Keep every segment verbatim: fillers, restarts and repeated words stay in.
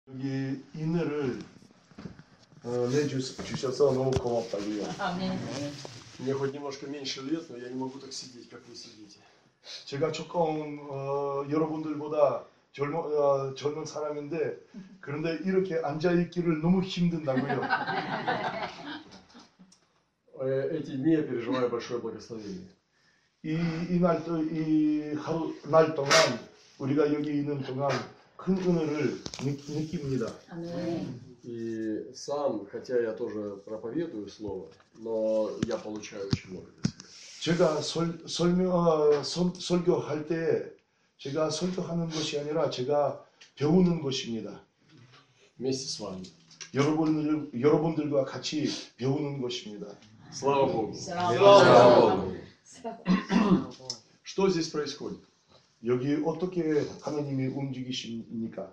여기 인을 어, 내주셔서 너무 고맙다고요. 아멘. Мне хоть немножко меньше лет, но я не могу так сидеть, как вы сидите. 제가 조금 어, 여러분들보다 젊은, 어, 젊은 사람인데 그런데 이렇게 앉아 있기를 너무 힘든다고요. Эти дни я переживаю большое благословение. 이날 또 이 하루 날 동안 우리가 여기 있는 동안 큰 은혜를 느, 느낍니다. 아멘. И сам, хотя я тоже проповедую слово, но я получаю очень много для себя. 제가 설, 설명, 어, 설, 설교할 때 제가 설교하는 것이 아니라 제가 배우는 것입니다. Вместе с вами. 여러분들, 여러분들과 같이 배우는 것입니다. Слава Богу. Слава Богу. Что здесь происходит? 여기 어떻게 하나님이 움직이십니까?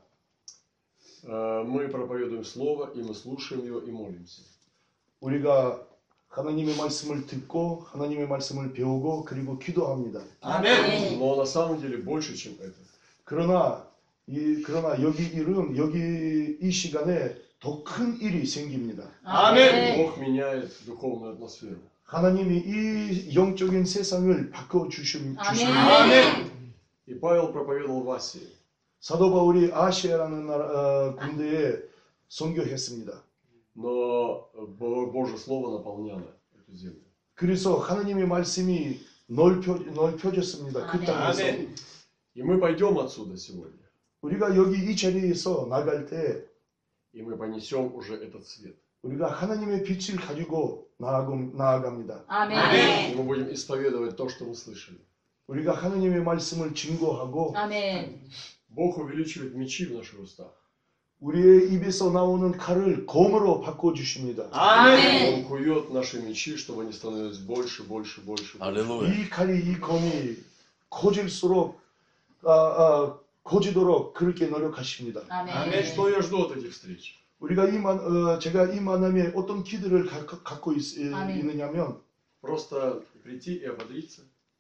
Мы проповедуем слово, и мы слушаем его и молимся. 우리가 하나님의 말씀을 듣고 하나님의 말씀을 배우고 그리고 기도합니다. 아멘. Но на самом деле больше, чем это. 그러나 이 그러나 여기 일은 여기 이 시간에 더 큰 일이 생깁니다. 아멘. Бог меняет духовную атмосферу. 하나님이 이 영적인 세상을 바꿔 주심 주십니다. 아멘. И Павел проповедовал в Асии. 사도 바울이 아시아라는 나라 어, 군대에 선교했습니다. Но Божье слово наполняло эту землю. 그래서 하나님의 말씀이 넓혀 넓혀졌습니다. 그 땅에서. И мы пойдем отсюда сегодня. 우리가 여기 이 자리에서 나갈 때 И мы понесем уже этот свет. 우리가 하나님의 빛을 가지고 나아가, 나아갑니다. 아멘. И мы будем исповедовать то, что мы слышали. 우리가 하나님의 말씀을 증거하고 아멘. Бог увеличивает мечи в наших устах. 우리의 입에서 나오는 칼을 검으로 바꿔 주십니다. 아멘. Он кует наши мечи, чтобы они становились больше, больше, больше. 할렐루야. 이 칼이 이 검이 커질수록 아, 아, 커지도록 그렇게 노력하십니다. 아멘. Что я жду от этих встреч? 우리가 이 만, 어, 제가 이 만남에 어떤 기대를 가, 갖고 있, 아멘. 있느냐면 Просто прийти и ободриться.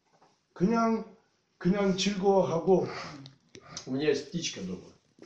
그냥 그냥 즐거워하고 У меня есть птичка дома.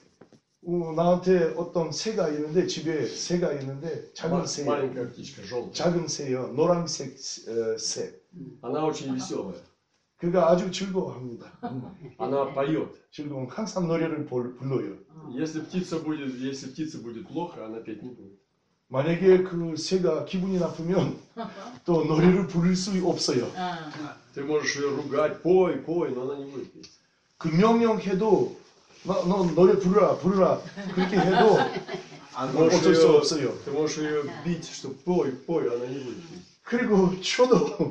어, 나한테 어떤 새가 있는데 집에 새가 있는데 작은 새, Маленькая птичка, желтая. 작은 새요, 노란색 어, 새. Она очень веселая. 그가 아주 즐거워합니다. Она поет. 즐거움, 항상 노래를 불, 불러요. Если птица будет, если птица будет плохо, она петь не будет. 만약에 그 새가 기분이 나쁘면 또 노래를 부를 수 없어요. Ты можешь ее ругать, пой, пой, но она не будет петь. 그 명령해도 너, 너 노래 부르라, 부르라 그렇게 해도 뭐 Можешь 어쩔 수 ее- 없어요. Ты можешь ее бить, что пой, пой, она не будет петь. 그리고 쳐도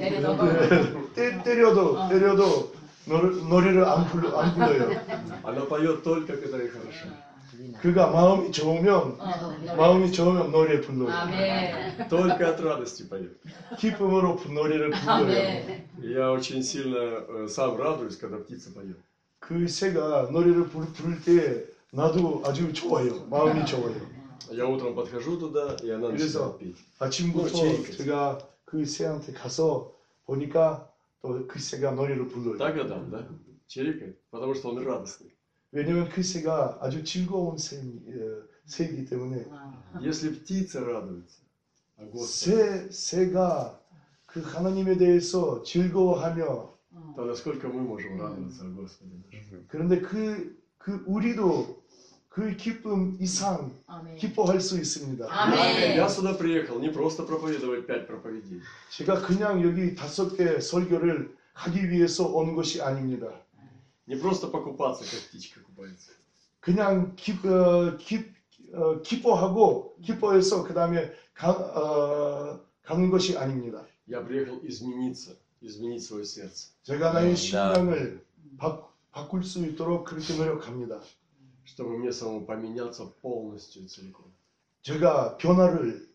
내려놓고. 때, 때려도 때려도 노래, 노래를 안, 불러, 안 불러요. Она поет только, когда ей хорошо. 그가 마음이 좋으면 마음이 좋으면 노래 불러요. 아멘. Только от радости поет. 기쁨으로 노래를 불러요. 아멘. И я очень сильно э, сам радуюсь, когда птица поет. 그 새가 노래를 부를, 부를 때 나도 아주 좋아요. 마음이 좋아요. Я утром подхожу туда, и она 그래서 начинает петь. 아침부터 제가 그 새한테 가서 보니까 또 그 새가 노래를 불러요. Так Адам, да? Чирикает, потому что он радостный. 왜냐면 그 새가 아주 즐거운 새, 어, 새이기 때문에 Если птица радуется, а Господь, 새, 새가 그 하나님에 대해서 즐거워하며 то насколько мы можем радоваться о Господе нашем? 그런데 그, 그 우리도 그 기쁨 이상 아멘. 기뻐할 수 있습니다. 아멘. Я сюда приехал не просто проповедовать пять проповедей. 제가 그냥 여기 다섯 개 설교를 하기 위해서 온 것이 아닙니다. Не просто покупаться, как птичка купается. 그냥 기, 어, 기, 어, 기뻐하고 기뻐해서 그 다음에 가, 어, 가는 것이 아닙니다. Я приехал измениться, изменить свое сердце. 제가 나의 음, 심장을 바, 바꿀 수 있도록 그렇게 노력합니다. Чтобы мне самому поменяться полностью и целиком. 제가 변화를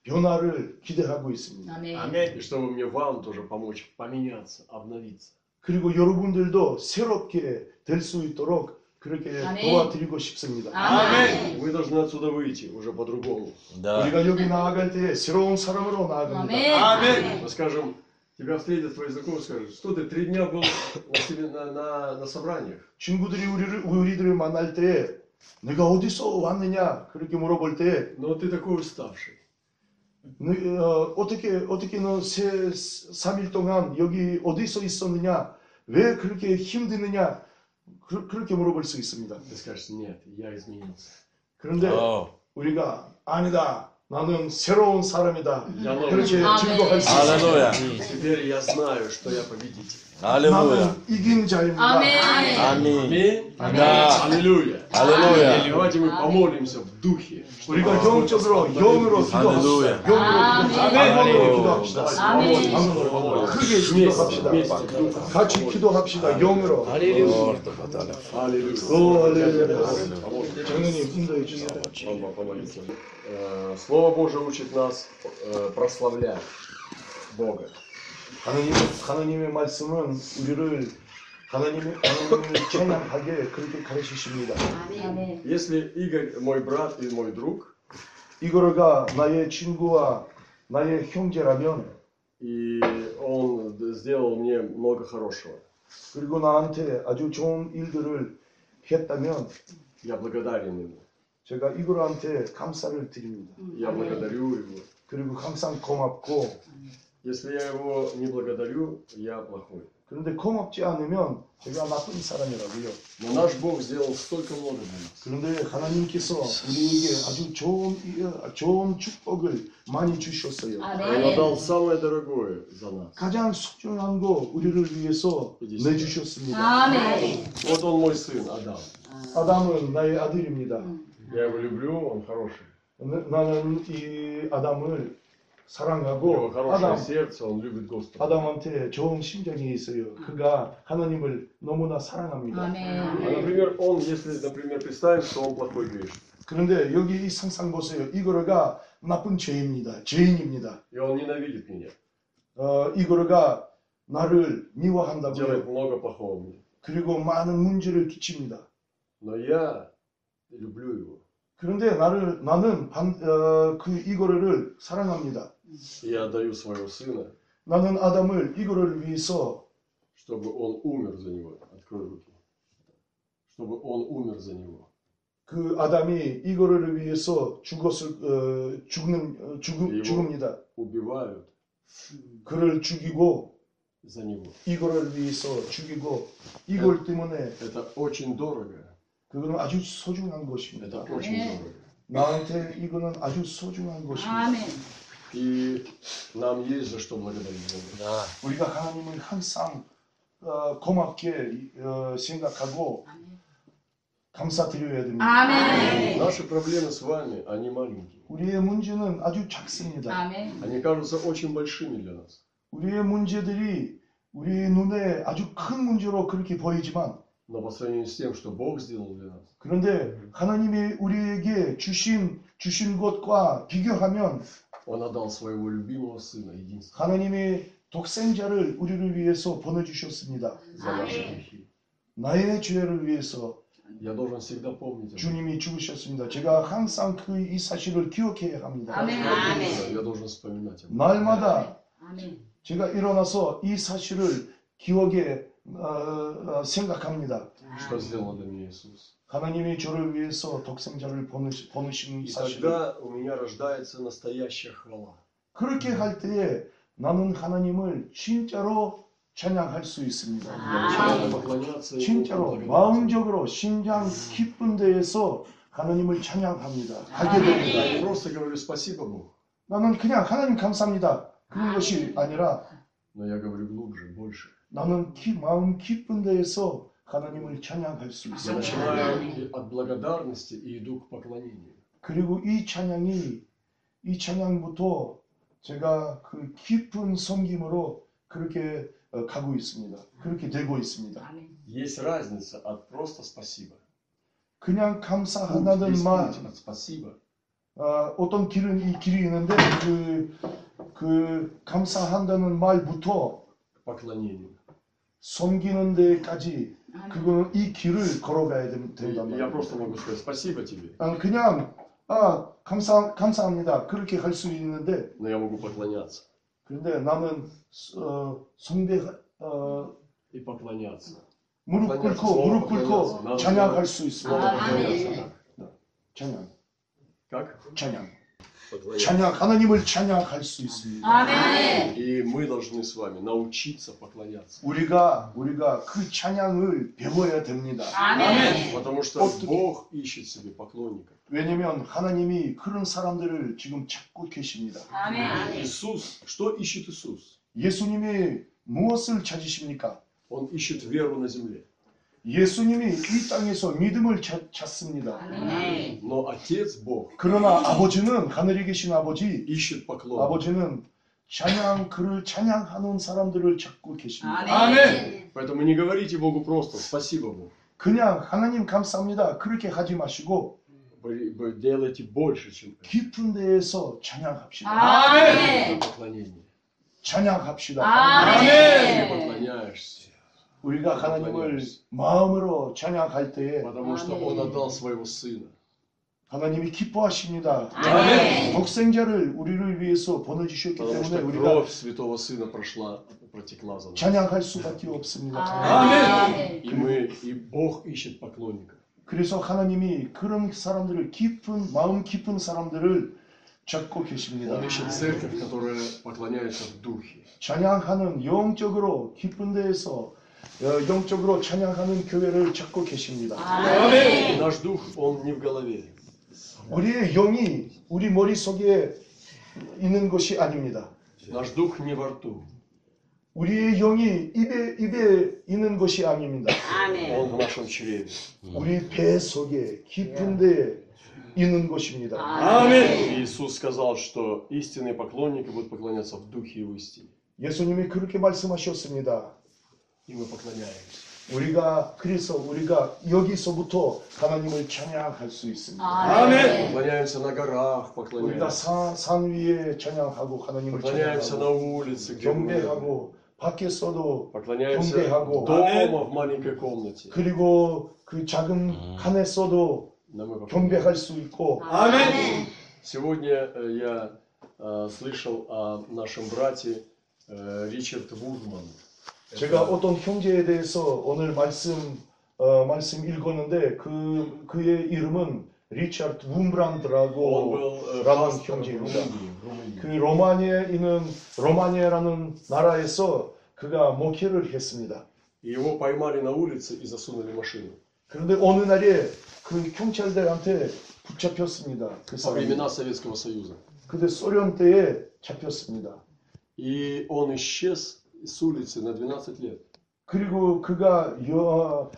변화를 기대하고 있습니다. 아멘. И чтобы мне вам тоже помочь поменяться, обновиться. 그리고 여러분들도 새롭게 될 수 있도록 그렇게 아멘. 도와드리고 싶습니다. 아멘. Вы должны отсюда выйти уже по-другому. Да. 우리가 여기 나아갈 때 새로운 사람으로 나아갑니다. 아멘. Мы скажем, тебя встретят твои знакомые, скажут, что ты три дня был на, себе- на, на, на собраниях. 친구들이 우리를 우리들을 만날 때 내가 어디서 왔느냐 그렇게 물어볼 때 Но ты такой уставший. 너, 어, 어떻게 어떻게 너 세 삼 일 동안 여기 어디서 있었느냐 왜 그렇게 힘드느냐 그, 그렇게 물어볼 수 있습니다. Ты скажешь, нет, я изменился. 그런데 어. 우리가 아니다 나는 새로운 사람이다 Я новый 그렇게 человек. 증거할 수 있습니다. 할렐루야. Теперь я знаю, что я победитель. 할렐루야. 나는 이긴 자입니다. 아멘. 아멘. Аминь. Да. Аллилуйя. 할렐루야. И давайте мы помолимся в духе. чтобы 우리가 Господь 영적으로 благословил 영으로 нас. 할렐루야. 기도합시다. 영으로 아멘. 기도합시다. 영으로 기도합시다. Давайте 아멘. помолимся. 영으로 크게 Вместе, 기도합시다. вместе. 같이 기도합시다. 영으로. Аллилуйя. 오, 할렐루야. Помолимся. 정현님 인도해 주세요. Слава помолиться. Э, Слово Божие учит нас э, прославлять Бога. 하나님, 하나님의 말씀은 우리를 하나님의 하나님을 찬양하게 그렇게 가르치십니다. 아멘. Если Игорь мой брат и мой друг, 이거가 나의 친구와 나의 형제라면 и он д- сделал мне много хорошего, 그리고 나한테 아주 좋은 일들을 했다면 я благодарен ему. 제가 이거한테 감사를 드립니다. Я благодарю его. 그리고 항상 고맙고 Если я его не благодарю, я плохой. 그런데 고맙지 않으면 제가 나쁜 사람이라고요. Но наш Бог сделал столько много для нас. 그런데 하나님께서 우리에게 아주 좋은 좋은 축복을 많이 주셨어요. Он отдал самое дорогое за нас. 가장 소중한 거 우리를 위해서 내주셨습니다. 아멘. Вот он мой сын, Адам. 아담은 나의 아들입니다. Я его люблю, он хороший. 나- 나는 이 아담을 У него 사랑하고 хорошее 아담, сердце, он любит Господа. 아담한테 좋은 심정이 있어요. 그가 하나님을 너무나 사랑합니다. А, 아멘. например, он, если, например, представим, что он плохой грешник, 그런데 여기 이 상상 보세요. 이거가 나쁜 죄입니다. 죄인입니다. и он ненавидит меня, 어, 이거가 나를 делает 미워한다고요. много плохого мне. 그리고 많은 문제를 끼칩니다. Но я люблю его. 그런데 나를 나는 반, 어, 그 이거를 사랑합니다. И я отдаю своего сына, 나는 아담을 이거를 위해서 чтобы он умер за него. Открой руки. Чтобы он умер за него. 그 아담이 이거를 위해서 죽었을 어, 죽는 어, 죽음, 이거. 죽습니다. Убивают 그를 죽이고 за него. 이거를 위해서 죽이고 이걸 때문에 Это очень дорого. 그거는 아주 소중한 것입니다. Это очень 네. дорого. 나한테 이거는 아주 소중한 것입니다. 아멘. И нам есть за что благодарить Бога. 아, 우리가 하나님을 항상 어, 고맙게 어, 생각하고 감사드려야 됩니다. 아멘. Наши проблемы с вами, они маленькие. 우리의 문제는 아주 작습니다. 아멘. Они кажутся очень большими для нас. 우리의 문제들이 우리 눈에 아주 큰 문제로 그렇게 보이지만 Но по сравнению с тем, что Бог сделал для нас, 그런데 하나님이 우리에게 주신 주신 것과 비교하면 Он отдал своего любимого Сына, единственного, 하나님이 독생자를 우리를 위해서 보내주셨습니다. за наши грехи. 나의 죄를 위해서 Я должен всегда помнить об этом. 주님이 죽으셨습니다. 제가 항상 그 이 사실을 기억해야 합니다. 아멘. Я должен вспоминать об этом. 날마다 아멘. 제가 일어나서 이 사실을 기억에 어, 어, 생각합니다. Что сделал для меня Иисус. 하나님이 저를 위해서 독생자를 보내시, 보내신 И 사실을 тогда у меня рождается настоящая хвала. 그렇게 할 때에 나는 하나님을 진짜로 찬양할 수 있습니다. Я начинаю поклоняться Ему, 진짜로 благодарить. 마음적으로 심장 깊은 데에서 하나님을 찬양합니다. 하게 Я 됩니다. не просто говорю спасибо Богу, 나는 그냥 하나님 감사합니다. 그런 것이 아니라 но я говорю глубже, больше. 나는 기, 마음 깊은 데에서 하나님을 찬양할 수 Я 있습니다. начинаю и от благодарности и иду к поклонению. 그리고 이 찬양이 이 찬양부터 제가 그 깊은 섬김으로 그렇게 어, 가고 있습니다. 그렇게 되고 있습니다. 아멘. Есть разница от просто спасибо. 그냥 Путь 감사한다는 есть 말 путь от спасибо 어, 어떤 길은 이 길이 있는데 그, 그 감사한다는 말부터 к поклонению. 섬기는 데까지 아멘. 그거는 이 길을 걸어가야 된- И 된단 Я 말이에요. просто могу сказать спасибо тебе, 아, 그냥 아 감사 감사합니다 그렇게 할 수 있는데 но я могу поклоняться. 그런데 나는 어, 숭배 어, И поклоняться. 무릎 Поклоняться, 꿇고 снова 무릎 поклоняться. 꿇고 Надо 찬양할 снова- 수 있습니다. снова 아, поклоняться, 아멘. да. 찬양, Как? 찬양, Поклоняться. 찬양. 하나님을 찬양할 수 있습니다. 아멘. И мы должны с вами научиться поклоняться. 우리가 우리가 그 찬양을 배워야 됩니다. 아멘. Потому что 어떻게- Бог ищет себе поклонников. 왜냐면 하나님이 그런 사람들을 지금 찾고 계십니다. 아멘. Иисус, что ищет Иисус? 예수님이 무엇을 찾으십니까? Он ищет веру на земле. 예수님이 이 땅에서 믿음을 찾, 찾습니다. 아멘. Но Отец Бог 그러나 아버지는 하늘에 계신 아버지, ищет поклонников. 아버지는 찬양 그를 찬양하는 사람들을 찾고 계십니다. 아멘. Поэтому не говорите Богу просто «Спасибо, Бог». 그냥 하나님 감사합니다. 그렇게 하지 마시고 Вы- вы делайте больше, чем это. 깊은 데에서 찬양합시다. 아멘. Поклонение. 찬양합시다. Ты 아멘. поклоняешься, 우리가 하나님을 마음으로 찬양할 때에 потому что 아멘. Он отдал своего Сына. 하나님이 기뻐하십니다. 아멘. 독생자를 우리를 위해서 보내주셨기 Потому 때문에 что 우리가 кровь Святого Сына прошла, протекла за нас. 찬양할 수밖에 없습니다. 아멘. И мы, и Бог ищет поклонников. 그래서 하나님이 그런 사람들을 깊은 마음 깊은 사람들을 찾고 계십니다. Он ищет церковь, которая поклоняется в духе. 찬양하는 영적으로 깊은 데에서 어, 영적으로 찬양하는 교회를 찾고 계십니다. И 아멘. наш дух, он не в голове. 우리의 영이 우리 머릿속에 있는 것이 아닙니다. Наш дух не во рту. 우리의 영이 입에 입에 있는 것이 아닙니다. 아멘. Он в нашем чреве. 우리 배 속에 깊은 데에 있는 것입니다. 아멘. Иисус сказал, что истинные поклонники будут поклоняться в духе и в истине. 예수님이 그렇게 말씀하셨습니다. И мы поклоняемся. 우리가 그래서 우리가 여기서부터 하나님을 찬양할 수 있습니다. 아멘. Поклоняемся на горах, 우리가 поклоняемся. 산, 산 위에 찬양하고 하나님을 Поклоняемся на 찬양하고 улице, где мы. 경배하고 밖에서도 Поклоняемся 경배하고. дома в маленькой комнате. 그리고 그 작은 칸에서도 Но мы поклоняемся. 경배할 수 있고 아멘. Сегодня э, я э, слышал о нашем брате э, Ричард Вудман. 제가 어떤 형제에 대해서 오늘 말씀 어, 말씀 읽었는데 그 그의 이름은 리차드 Он 움브란드라고 был э, 라는 пастором в 형제입니다. Румынии. в Румынии. 그 로마니아에 있는 로마니아라는 나라에서 그가 목회를 했습니다. И его поймали на улице и засунули в машину. 그런데 어느 날에 그 경찰들한테 붙잡혔습니다. 그 Во 사람이. времена Советского Союза. 근데 소련 때에 잡혔습니다. И он исчез с улицы на двенадцать лет. 그리고 그가 여,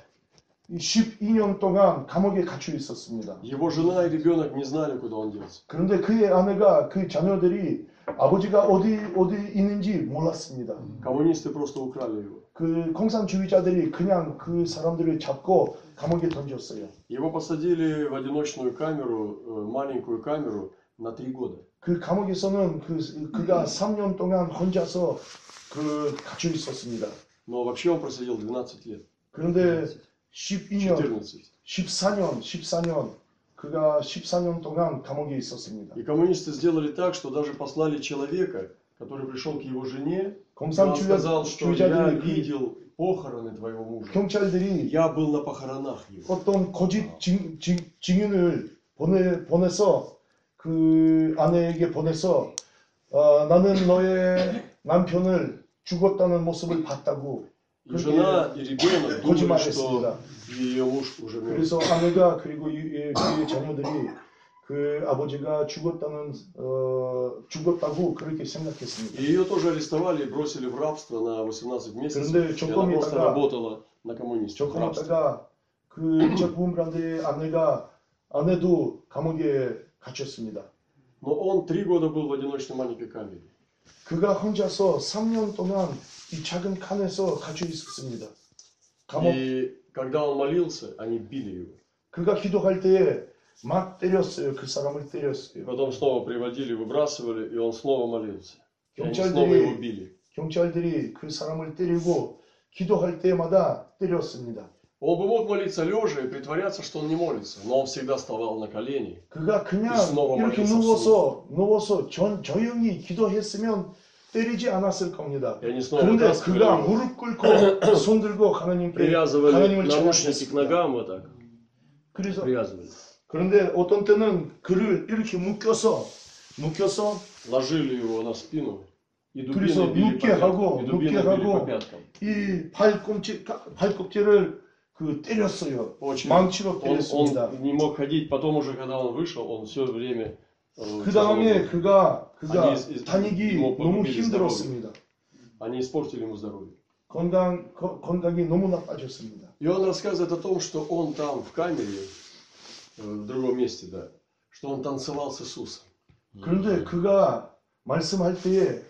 십이 년 동안 감옥에 갇혀 있었습니다. Его жена и ребенок не знали, куда он делся. 그런데 그의 아내가 그 자녀들이 아버지가 어디 어디 있는지 몰랐습니다. Коммунисты просто украли его. 그 공산주의자들이 그냥 그 사람들을 잡고 감옥에 던졌어요. Его посадили в одиночную камеру, э, маленькую камеру, на три года. 그 감옥에서는 그 그가 삼 년 동안 혼자서 그 갇혀 있었습니다. Но вообще он просидел двенадцать лет. 그런데 십이 년, четырнадцать. 십사 년, 십사 년 그가 십사 년 동안 감옥에 있었습니다. И коммунисты сделали так, что даже послали человека, который пришел к его жене, и он сказал, что я 공산주의자들이 видел похороны твоего мужа. 경찰들이 Я был на похоронах его. 어떤 거짓 증, 증, 증인을 보내 보내서 그 아내에게 보내서 어, 나는 너의 남편을 죽었다는 모습을 봤다고 И жена, и ребенок думали, 거짓말했습니다. что ее муж уже мертв. 그래서 아내가 그리고 이- 이- 그의 자녀들이 그 아버지가 죽었다는 어, 죽었다고 그렇게 생각했습니다. И ее тоже арестовали и бросили в рабство на восемнадцать месяцев. 그런데 И 조금 она просто 있다가- работала на коммунистов в 조금 рабстве. 있다가 그 리처드 붐브란드의 아내가 아내도 감옥에 갇혔습니다. Но он три года был в одиночной маленькой камере. 그가 혼자서 삼 년 동안 이 작은 칸에서 갇혀 있었습니다. 감옥 И когда он молился, они били его. 그가 기도할 때에 막 때렸어요. 그 사람을 때렸어요. Потом снова приводили, выбрасывали, и он снова молился. И они снова его 경찰들이 били. 경찰들이 그 사람을 때리고 기도할 때마다 때렸습니다. Он бы мог молиться лежа и притворяться, что он не молится, но он всегда вставал на колени. 그가 그냥 이 스노우 이렇게 말해서 누워서 누워서 전 조용히 기도했으면 때리지 않았을 겁니다. И они снова 그런데 вытаскивали 그가 его, 무릎 꿇고 손 들고 하나님께 привязывали 하나님을 наручники к 찬양했습니다. ногам вот так, 그래서 привязывали. 그런데 어떤 때는 그를 이렇게 묶여서 묶여서 Ложили его на спину и 그래서 дубиной били по 눕게 하고 пяткам. И 눕게 дубиной били по 하고 пяткам. 이 발꿈치 발꿈치를 그 때렸어요. Очень. 망치로 Он, 때렸습니다. он не мог ходить, потом уже, когда он вышел, он все время э, 그 다음에 тяжело был. 그가 그가 아니, 이- 다니기 뭐, 너무 뭐, 힘들었습니다. Они испортили ему здоровье. 건강 거- 건강이 너무나 빠졌습니다. И он рассказывает о том, что он там в камере, э, в другом месте, да, что он танцевал с Иисусом. 그런데 그가 말씀할 때에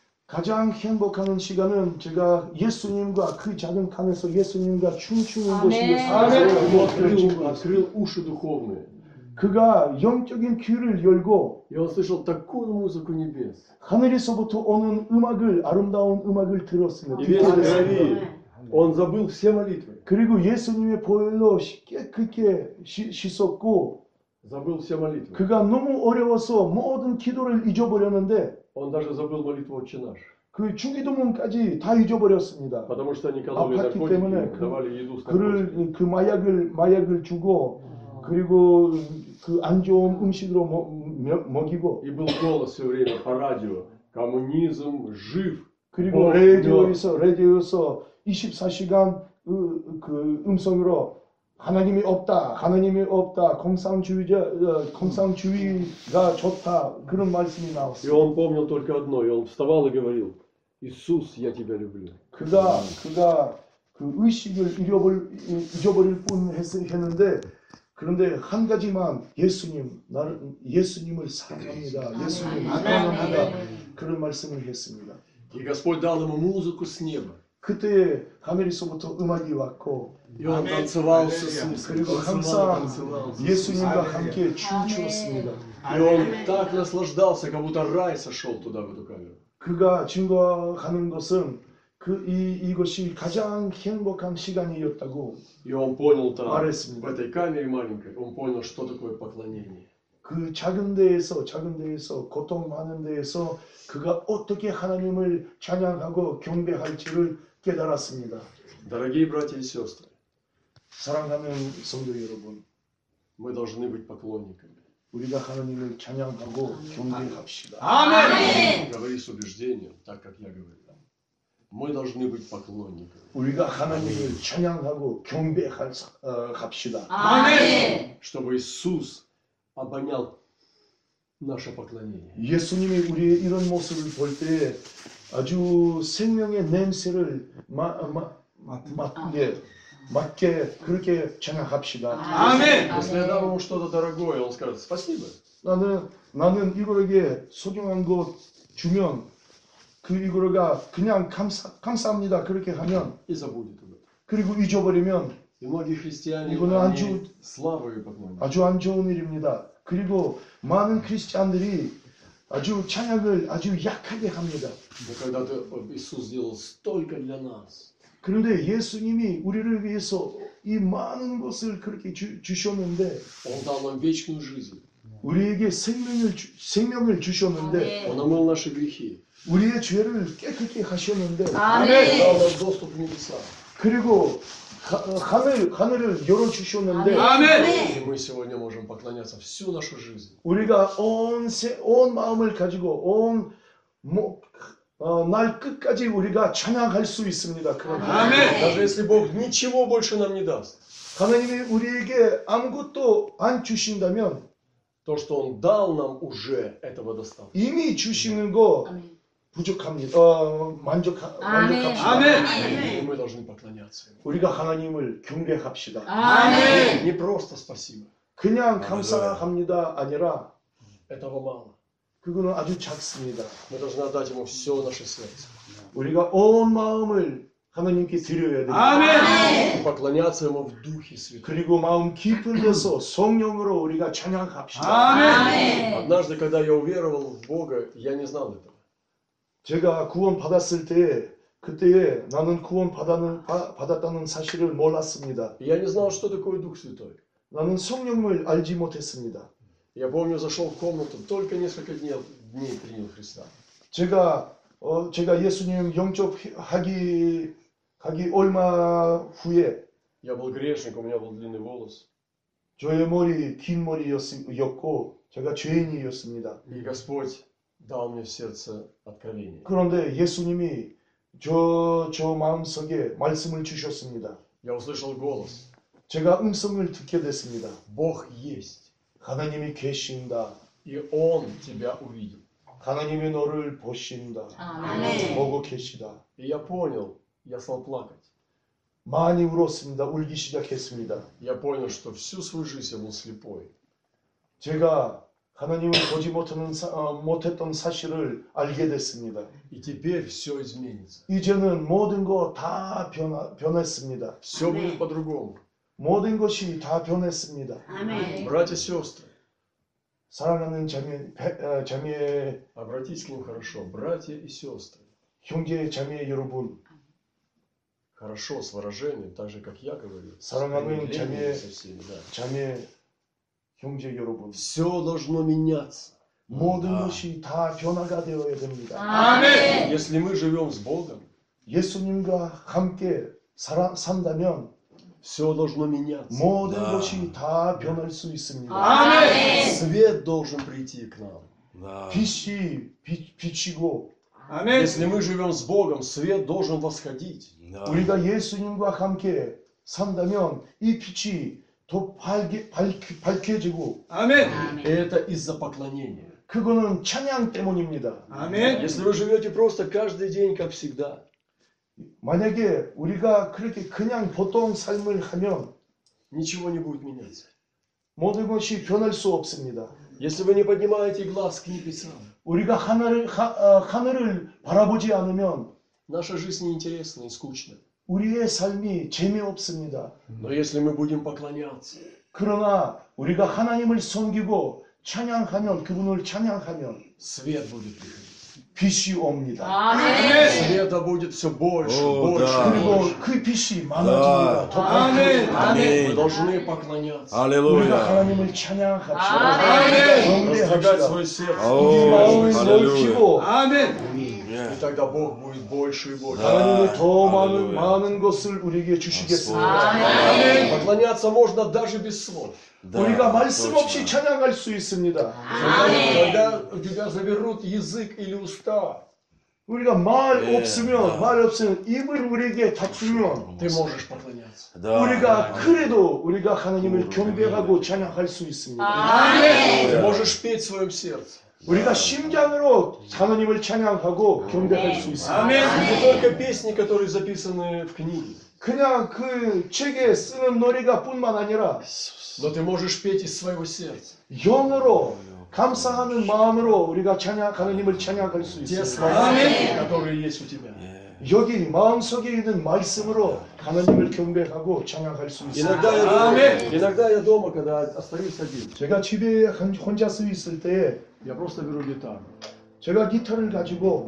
가장 행복한 시간은 제가 예수님과 그 작은 칸에서 예수님과 춤추는 아멘. 것이었어요. 아멘. Ему 그를 открыл, 지금 открыл уши духовные. 그가 영적인 귀를 열고 И он слышал такую музыку небес. 하늘에서부터 오는 음악을 아름다운 음악을 들었습니다. И 듣게 ветер 됐습니다. говорит, он забыл все молитвы. 그리고 예수님의 보혈로 깨끗게 씻- 씻었고 Забыл все молитвы. 그가 너무 어려워서 모든 기도를 잊어버렸는데 Он даже забыл молитву «Отче наш». 그 주기도문까지 다 잊어버렸습니다. Потому что они кололи 아팠기 наркотики, 때문에 그- давали еду с наркотиками. 그를 그 마약을 마약을 주고 그리고 그 안 좋은 음식으로 먹, 먹- 먹이고 И был голос все время по радио. Коммунизм жив. 그리고 어, 라디오에서 라디오에서 이십사 시간 그, 그 음성으로 하나님이 없다, 하나님이 없다, 공산주의자, 어, 공산주의가 좋다 그런 말씀이 И 나왔어요. он помнил только одно. И он вставал и говорил: Иисус, я тебя люблю. 그가 그가 그 의식을 잃어버릴, 잊어버릴 뿐 했, 했는데 그런데 한 가지만 예수님 나를 예수님을 사랑합니다. 예수님 사랑합니다. 그런 말씀을 했습니다. И Господь дал ему музыку с неба. 그때 하늘에서부터 음악이 왔고 И он танцевал с Иисусом. 그리고 Танцевал, 항상 танцевал. 예수님과 함께 춤추었습니다. И он так наслаждался, как будто рай сошел туда, в эту камеру. 그가 증거하는 것은 그 이 이것이 가장 행복한 시간이었다고 И он понял там, 말했습니다. в этой камере маленькой, он понял, что такое поклонение. 그 작은 데에서 작은 데에서 고통 많은 데에서 그가 어떻게 하나님을 찬양하고 경배할지를 깨달았습니다. Дорогие братья и сестры, 사랑하는 성도 여러분, мы должны быть поклонниками. 우리가 하나님을 찬양하고 경배합시다. Говори с убеждением, так как я говорю. Мы должны быть поклонниками. 우리가 하나님을 찬양하고 경배할 어, 합시다. Чтобы Иисус обонял наше поклонение. 예수님이 우리의 이런 모습을 볼 때 아주 생명의 냄새를 마, 마, 맡, 예, 맡게 그렇게 찬양합시다. Если я дам ему что-то дорогое, он скажет спасибо. 나는 나는 이거에게 소중한 거 주면 그 이거가 그냥 감사 감사합니다 그렇게 하면 И забудет об этом. 그리고 잊어버리면 И многие христиане, 이거는 они 아주- слабые поклонники. 아주 안 좋은 일입니다. 그리고 많은 크리스찬들이 아주 찬양을 아주 약하게 합니다. Но когда ты, Иисус сделал столько для нас, 그런데 예수님이 우리를 위해서 이 많은 것을 그렇게 주, 주셨는데 Он дал нам вечную жизнь. 우리에게 생명을 주, 생명을 주셨는데 Он омыл наши грехи. 우리의 죄를 깨끗게 하셨는데 дал нам доступ в небеса. 그리고 하, 하늘 하늘을 열어 주셨는데 И мы сегодня можем поклоняться всю нашу жизнь. 우리가 온, 세, 온 마음을 가지고 온 뭐, 어, 날 끝까지 우리가 찬양할 수 있습니다. 그런 Даже если Бог ничего больше нам не даст, 하나님이 우리에게 아무것도 안 주신다면 то, что Он дал нам уже, этого достаточно. 이미 주시는 거 부족합니다. 어, 만족하, 만족합시다. И мы должны поклоняться Ему. 우리가 하나님을 경배합시다. Не просто спасибо. 그냥 감사합니다 아니라 Этого мало. 그거는 아주 작습니다. Мы должны отдать Ему все наше сердце. 우리가 온 마음을 하나님께 드려야 됩니다. И поклоняться Ему в Духе Святом. 그리고 마음 깊은 데서 성령으로 우리가 찬양합시다. Однажды, когда я уверовал в Бога, я не знал этого. 제가 구원 받았을 때 그때에 나는 구원 받았는, 바, 받았다는 사실을 몰랐습니다. И я не знал, что такое Дух Святой. 나는 성령을 알지 못했습니다. Я помню, зашел в комнату, только несколько дней, дней принял Христа. 제가 어, 제가 예수님 영접하기 하기 얼마 후에 я был грешник, у меня был длинный волос. 저의 머리 긴 머리였고 제가 죄인이었습니다. И Господь дал мне в сердце откровение. 그런데 예수님이 저, 저 마음속에 말씀을 주셨습니다. Я услышал голос. 제가 음성을 듣게 됐습니다. Бог есть. 하나님이 계신다. И Он тебя увидел. 하나님이 너를 보신다. 아멘. 보고 계시다. И я понял, я стал плакать. 많이 울었습니다. 울기 시작했습니다. Я понял, что всю свою жизнь я был слепой. 제가 하나님을 보지 못하는 사, 어, 못했던 사실을 알게 됐습니다. И теперь все изменится. 이제는 모든 거 다 변했습니다. Все будет по-другому. 모든 것이 다 변했습니다. 아멘. Братья и сестры, 사랑하는 자매, 배- 어, 자매, обратитесь к ним хорошо. Братья и сестры. 형제, 자매 여러분, Хорошо, с выражением, так же, как я говорю. С 사랑하는 примирением 자매, со всеми, да. 자매, 형제 여러분, Все должно меняться. 모든 것이 다 변화가 되어야 됩니다. 아멘. Если мы живем с Богом, 예수님과 함께 살아, 산다면 все должно меняться. 모든 아. 것이 다 변할 수 있습니다. 아멘. Свет должен прийти к нам. Да. 빛이 빛, 비치고 Если мы живем с Богом, свет должен восходить. Да. 우리가 예수님과 함께 산다면 이 빛이 더 밝게, 밝, 밝혀지고 И это из-за поклонения. 그거는 찬양 때문입니다. Если вы живете просто каждый день, как всегда, 만약에 우리가 그렇게 그냥 보통 삶을 하면 ничего не будет меняться. 모든 것이 변할 수 없습니다. Если вы не поднимаете глаз к небесам, 우리가 하늘을, 하, 어, 하늘을 바라보지 않으면 наша жизнь неинтересна и скучна. 우리의 삶이 재미없습니다. Но если мы будем поклоняться, 그러나 우리가 하나님을 섬기고 찬양하면 그분을 찬양하면 свет будет приходить. 빛이 옵니다. 아멘. Света будет все больше, О, больше, да. 그리고 больше. 그 빛이 많아집니다. 더 아멘. 밝혀집니다. Мы должны поклоняться, 우리가 Аллилуйя. 하나님을 찬양합시다. 아멘. раздвигать 경배합시다. свое сердце. 우리 오, 마음을 할렐루야. 넓히고 И тогда Бог будет больше и больше. 하나님이 더 많은, 할렐루야. 많은 것을 우리에게 주시겠습니다. 아멘. Поклоняться можно даже без слов. Да, 우리가 말씀 точно. 없이 찬양할 수 있습니다. 아멘. Когда у тебя заберут язык или уста, 우리가 말 예, 없으면 아. 말 없으면 입을 우리에게 닫으면 ты можешь поклоняться. Да. 우리가 그래도 우리가 하나님을 경배하고 찬양할 수 있습니다. 아멘. Ты можешь петь в своем сердце. 우리가 심장으로 하나님을 찬양하고 경배할 수 있습니다. Не только песни, которые записаны в книге, 그냥 그 책에 쓰는 노래가 뿐만 아니라 но ты можешь петь из своего сердца. 영어로 감사하는 마음으로 우리가 찬양 하나님을 찬양할 수 Те 있습니다. слова, которые есть у тебя. 여기 마음속에 있는 말씀으로 하나님을 경배하고 찬양할 수 있습니다. Иногда я, дома, иногда я дома, когда остаюсь один, 제가 집에 한- 혼자 서 있을 때 я просто беру гитару 제가 기타를 가지고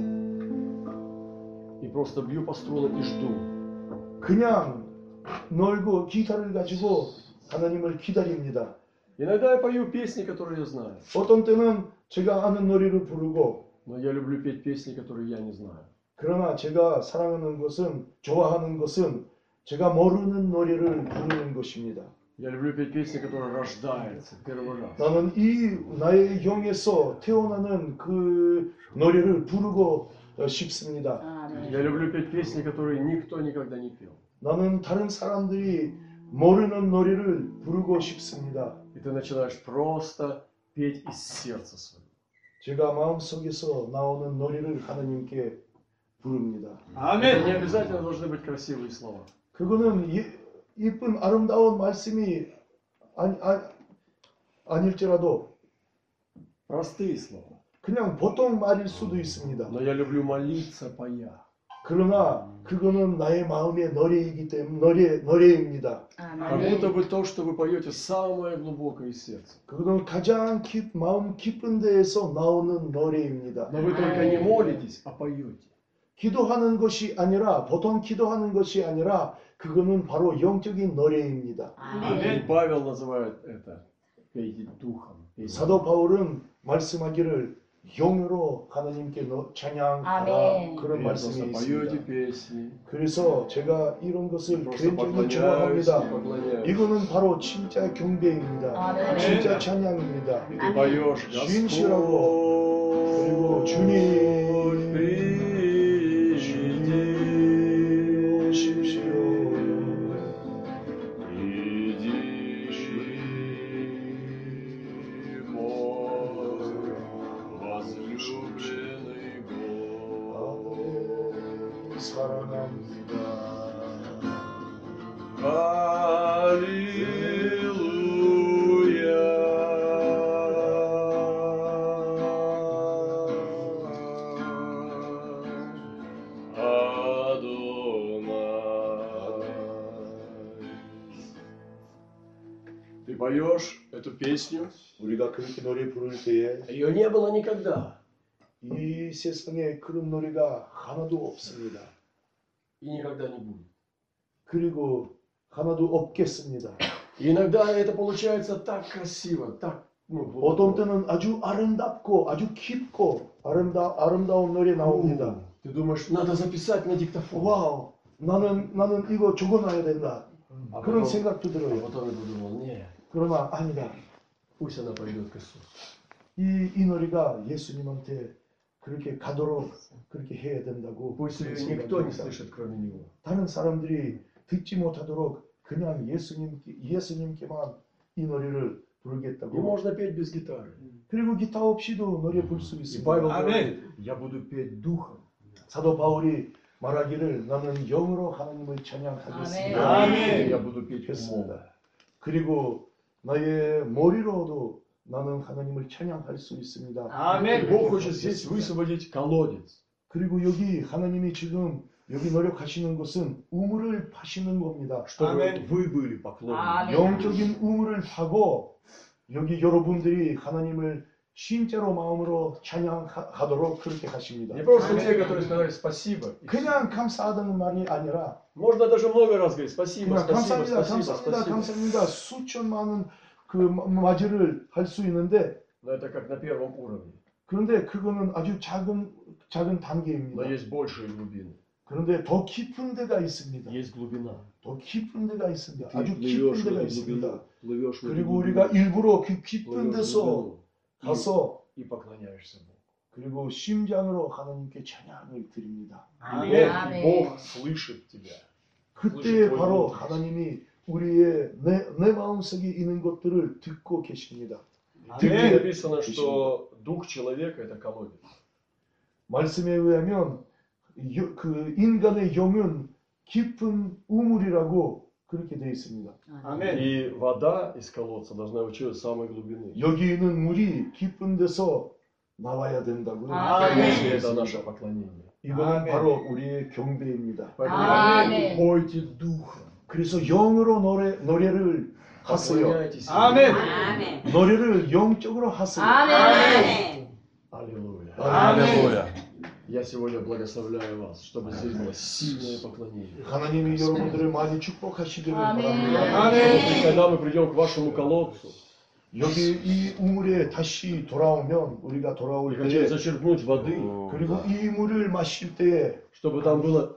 и просто бью по струнам и жду. 그냥 놀고 기타를 가지고 하나님을 기다립니다. Иногда я пою песни, которые я знаю, 어떤 때는 제가 아는 노래를 부르고 но я люблю петь песни, которые я не знаю. 그러나 제가 사랑하는 것은 좋아하는 것은 제가 모르는 노래를 부르는 것입니다. Я люблю петь песни, которые рождаются первый раз. 나는 이 나의 영에서 태어나는 그 노래를 부르고 어, 싶습니다. Я люблю петь песни, которые никто никогда не пел. 나는 다른 사람들이 모르는 노래를 부르고 싶습니다. И ты начинаешь просто петь из сердца своего. 제가 마음속에서 나오는 노래를 하나님께 부릅니다. Это не обязательно должны быть красивые слова. 그거는 이, 이쁜 아름다운 말씀이 아니, 아, 아닐지라도 Простые слова. 그냥 보통 말일 수도 있습니다. Но я люблю молиться, поя. 그러나 그거는 나의 마음의 노래이기 때문에 노래, 노래입니다. Как будто бы то, что вы поете, самое глубокое из сердца. 그거는 가장 깊, 마음 깊은 데에서 나오는 노래입니다. Но вы только не молитесь, а поете. 기도하는 것이 아니라 보통 기도하는 것이 아니라 그거는 바로 영적인 노래입니다. И Павел называет это пейте духом. пейте. 사도 바울은 말씀하기를 영으로 하나님께 너- 찬양하라 아멘. 그런 Вы 말씀이 просто поете 있습니다. песни, 그래서 제가 이런 것을 просто 굉장히 поклоняюсь, 좋아합니다. поклоняюсь. 이거는 바로 진짜 경배입니다. 아멘. 진짜 찬양입니다. И ты поешь, 진실하고 그리고 Господь, 주님 приди, 주님 오십시오. приди, мой возлюбленный Бог. 사랑합니다. Аллилуйя. Адонай. Ты поешь эту песню? 우리가 그렇게 노래 부를 때에 Ее не было никогда. 이 세상에 그런 노래가 하나도 없습니다. И никогда не будет. 그리고 하나도 없겠습니다. И иногда это получается так красиво, так ну, 어떤 глубоко. 때는 아주 아름답고 아주 깊고 아름다, 아름다운 노래 나옵니다. Ты думаешь, надо записать на диктофон. 와우, 나는 나는 이거 적어놔야 된다. А 그런 потом, 생각도 а 들어요. потом я подумал, нет, 그러나 아니다. пусть она пойдет к Иисусу. 이, 이 노래가 예수님한테 그렇게 가도록 그렇게 해야 된다고 Пусть ее 그런 никто не 생각입니다. слышит, кроме него. 다른 사람들이 듣지 못하도록 그냥 예수님께, 예수님께만 이 노래를 И 부르겠다고. можно петь без гитары. 그리고 기타 없이도 노래 부를 수 И 있습니다. Павел Аминь. говорит, я буду петь духом. 사도 바울이 말하기를 나는 영으로 하나님을 찬양하겠습니다. 아멘. Я буду петь умом. 했습니다. 그리고 나의 머리로도 나는 하나님을 찬양할 수 있습니다. 아멘. Бог хочет здесь высвободить колодец. 그리고 여기 하나님이 지금 여기 노력하시는 것은 우물을 파시는 겁니다. Чтобы 아멘. вы были поклонниками. 아멘. 영적인 우물을 파고 여기 여러분들이 하나님을 진짜로 마음으로 찬양하도록 그렇게 하십니다. Не просто те, которые сказали спасибо. и всё. 그냥 감사하다는 말이 아니라 Можно даже много раз говорить спасибо, 그냥 спасибо, 감사합니다, спасибо, 감사합니다, спасибо. 감사합니다. 수천 많은 그 맞이를 할 수 있는데 Но это как на первом уровне. 그런데 그거는 아주 작은 작은 Но 단계입니다. есть большие глубины. 그런데 더 깊은 데가 있습니다. Есть глубина. 더 깊은 데가 있습니다. Ты 아주 плывешь 깊은 в 데가 эту 있습니다. глубину, плывешь в эту 그리고 глубину, 우리가 일부러 그 깊은 плывешь в 데서 глубину 가서 и, и поклоняешься Богу. 그리고 심장으로 하나님께 찬양을 드립니다. И 아멘. Бог, 아멘. Бог слышит тебя. 그때 слышит 바로 твой голос. 하나님이 우리의 내, 내 마음속에 있는 것들을 듣고 계십니다. В Библии 아멘. написано, что дух человека это колодец. 말씀에 의하면 여- 그 인간의 영은 깊은 우물이라고 그렇게 되어 있습니다. 아멘. И вода из колодца должна вычерпывать с самой глубины. 여기 있는 물이 깊은 데서 나와야 된다고요. 아멘. И это наше поклонение. 이거는 아멘. 바로 우리의 경배입니다. Поэтому 아멘. пойте духом. 그래서 영으로 노래, 노래를 하세요. Поклоняйтесь 아멘. Ему. 아멘. 노래를 영적으로 하세요. 아멘. Аллилуйя. Аллилуйя. Я сегодня благословляю вас, чтобы здесь было сильное поклонение. 하나님이 여러분들을 많이 축복하시기를 아멘. 바랍니다. 아멘. И когда мы придем к вашему колодцу, 여기 이 우물에 다시 돌아오면 우리가 и 돌아올 хотели 때 зачерпнуть воды, 그리고 이 물을 마실 때에 чтобы там была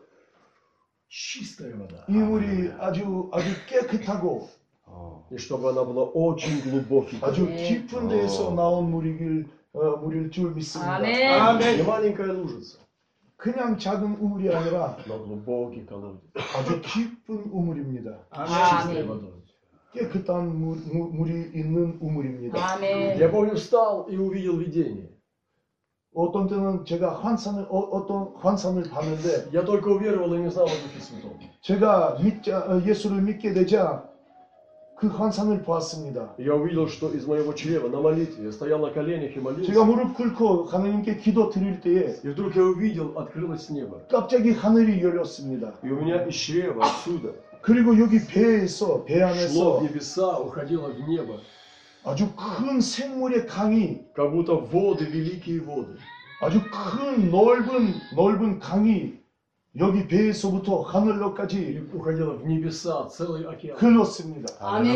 чистая вода, 이 물이 아주 아주 깨끗하고 и чтобы она была очень глубокой. 아주 네. 깊은 데에서 나온 물이길 어, 물일 줄 믿습니다. 아멘. Не 아멘. маленькая лужица, 그냥 작은 우물이 아니라 но глубокий колодец. 아주 깊은 우물입니다. Чистой 아멘. водой. 깨끗한 물, 물, 물이 있는 우물입니다. Я 아멘. помню, встал и увидел видение. 어떤 때는 제가 환상을 어, 어떤 환상을 봤는데 Я только уверовал и не знал о Духе Святом. 제가 믿자 어, 예수를 믿게 되자 그 환상을 보았습니다. Я увидел, что из моего чрева на молитве я стоял на коленях и молился. 제가 무릎 꿇고 하나님께 기도 드릴 때에 И вдруг я увидел, открылось небо. 갑자기 하늘이 열렸습니다. И у меня из чрева отсюда 그리고 여기 배에서 배 шло 안에서 в небеса, уходило в небо. 아주 큰 생물의 강이 Как будто воды, великие воды. 아주 큰 넓은 넓은 강이 여기 배에서부터 И 하늘로까지 уходило в небеса, целый океан. 흘렀습니다.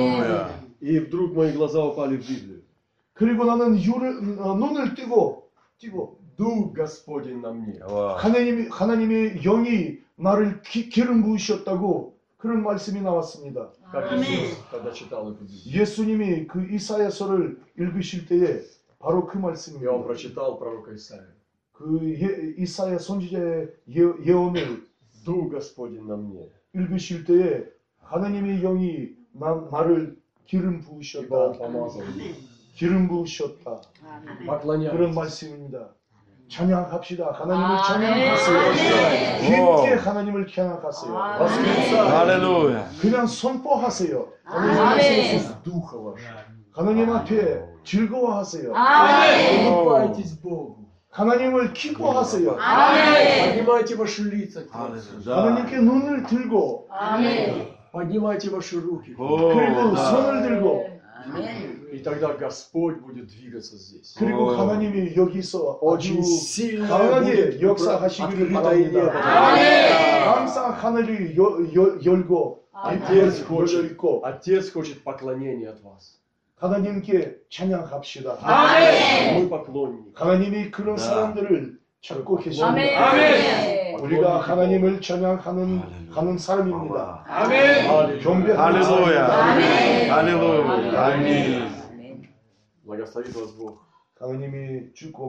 아멘. И вдруг мои глаза упали в Библию. 그리고 나는 유를, 어, 눈을 뜨고 뛰고 Дух Господень на мне. 하나님, 하나님의 영이 나를 기, 기름 부으셨다고 그런 말씀이 나왔습니다. Как Аминь. Иисус, когда читал эту Библию. 예수님이 그 이사야서를 읽으실 때에 바로 그 И он 말씀입니다. прочитал пророка Исаия. 그 예, 이사야 선지자의 예, 예언을 Дух Господень на мне. 읽으실 때에 하나님의 영이 나, 나를 기름 Ибо Он 부으셨다. помазал меня. 기름 부으셨다. 그런 Поклоняйтесь. 말씀입니다. 찬양합시다. 하나님을 아멘. 찬양하세요. 아멘. 깊게 하나님을 찬양하세요. 아멘. Восклицайте. Аллилуйя. 그냥 선포하세요. 아멘. Из духа вашего. 하나님 앞에 즐거워하세요. 아멘. Улыбайтесь Богу. 하나님을 기뻐하세요. 아멘. Поднимайте ваши лица к Нему. 하나님께 눈을 들고 아멘. Поднимайте ваши руки. 그리고 손을 들고 И тогда Господь будет двигаться здесь. 그리고 하나님이 여기서 아주 Очень сильно 강하게 будет 역사하시기를 открытое небо. 바랍니다. 항상 하늘이 여, 여, 열고 Отец 열려 хочет, 있고 Отец хочет поклонения от вас. 하나님께 찬양합시다. 아멘. Мы поклонники. 하나님이 그런 사람들을 찾고 계십니다. 아멘. 우리가 하나님을 찬양하는 하는 사람입니다. 아멘. 경배하는 할렐루야. 사람입니다. 할렐루야. 아멘. Благословит вас Бог. 하나님이 주고